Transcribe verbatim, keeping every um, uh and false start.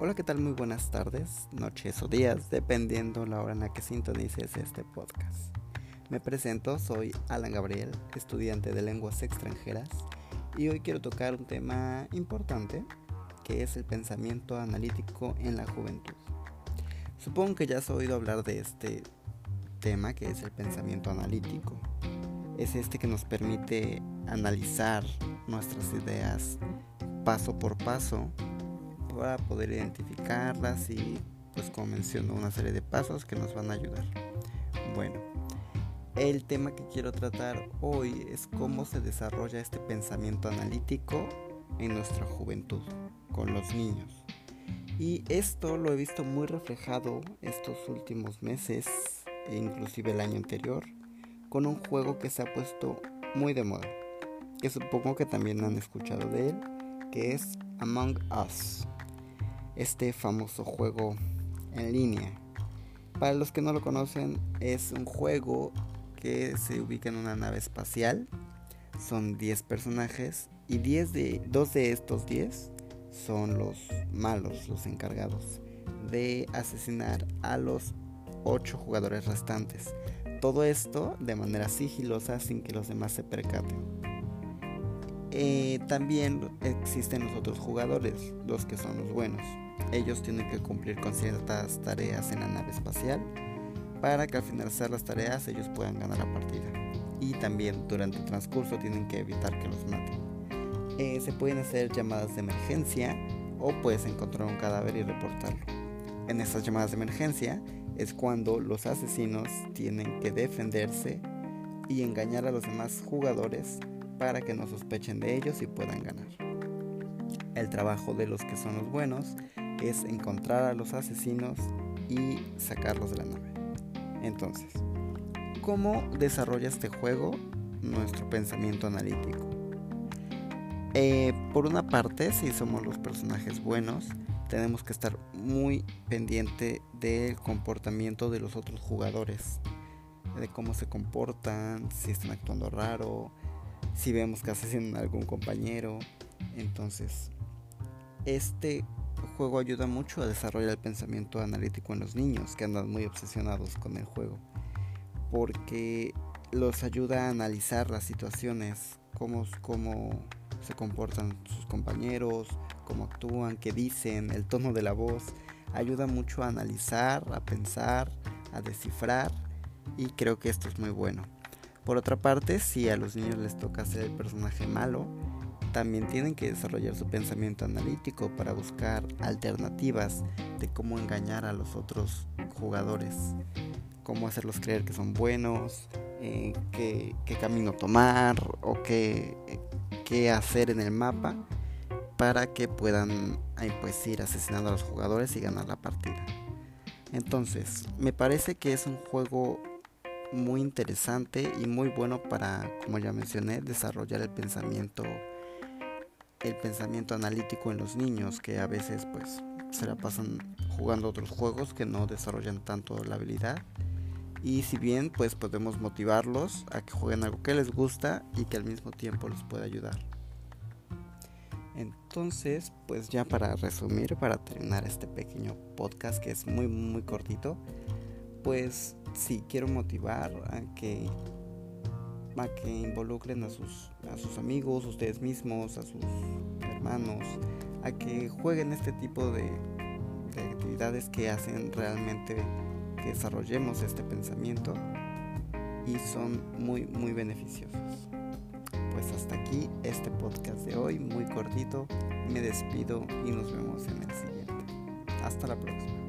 Hola, ¿qué tal? Muy buenas tardes, noches o días, dependiendo la hora en la que sintonices este podcast. Me presento, soy Alan Gabriel, estudiante de lenguas extranjeras, y hoy quiero tocar un tema importante, que es el pensamiento analítico en la juventud. Supongo que ya has oído hablar de este tema, que es el pensamiento analítico. Es este que nos permite analizar nuestras ideas paso por paso para poder identificarlas y, pues como menciono, una serie de pasos que nos van a ayudar. Bueno, el tema que quiero tratar hoy es cómo se desarrolla este pensamiento analítico en nuestra juventud, con los niños. Y esto lo he visto muy reflejado estos últimos meses, e inclusive el año anterior, con un juego que se ha puesto muy de moda, que supongo que también han escuchado de él, que es Among Us, este famoso juego en línea. Para los que no lo conocen, es un juego que se ubica en una nave espacial. Son diez personajes y diez de, dos de estos diez son los malos, los encargados de asesinar a los ocho jugadores restantes. Todo esto de manera sigilosa, sin que los demás se percaten. Eh, también existen los otros jugadores, los que son los buenos. Ellos tienen que cumplir con ciertas tareas en la nave espacial para que al finalizar las tareas ellos puedan ganar la partida. Y también durante el transcurso tienen que evitar que los maten. Eh, se pueden hacer llamadas de emergencia o puedes encontrar un cadáver y reportarlo. En estas llamadas de emergencia es cuando los asesinos tienen que defenderse y engañar a los demás jugadores para que no sospechen de ellos y puedan ganar. El trabajo de los que son los buenos es encontrar a los asesinos y sacarlos de la nave. Entonces, ¿cómo desarrolla este juego nuestro pensamiento analítico? Eh, por una parte, si somos los personajes buenos, tenemos que estar muy pendiente del comportamiento de los otros jugadores, de cómo se comportan, si están actuando raro, si vemos que asesinan a algún compañero. Entonces, este juego ayuda mucho a desarrollar el pensamiento analítico en los niños que andan muy obsesionados con el juego, porque los ayuda a analizar las situaciones, cómo, cómo se comportan sus compañeros, cómo actúan, qué dicen, el tono de la voz. Ayuda mucho a analizar, a pensar, a descifrar, y creo que esto es muy bueno. Por otra parte, si a los niños les toca ser el personaje malo, también tienen que desarrollar su pensamiento analítico para buscar alternativas de cómo engañar a los otros jugadores, cómo hacerlos creer que son buenos, eh, qué, qué camino tomar o qué, qué hacer en el mapa para que puedan pues, ir asesinando a los jugadores y ganar la partida. Entonces, me parece que es un juego muy interesante y muy bueno para, como ya mencioné, desarrollar el pensamiento el pensamiento analítico en los niños, que a veces pues se la pasan jugando otros juegos que no desarrollan tanto la habilidad. Y si bien pues podemos motivarlos a que jueguen algo que les gusta y que al mismo tiempo les pueda ayudar. Entonces, pues ya para resumir, para terminar este pequeño podcast que es muy muy cortito, pues sí quiero motivar a que a que involucren a sus, a sus amigos, ustedes mismos, a sus hermanos, a que jueguen este tipo de, de actividades que hacen realmente que desarrollemos este pensamiento y son muy muy beneficiosos. Pues hasta aquí este podcast de hoy, muy cortito. Me despido y nos vemos en el siguiente. Hasta la próxima.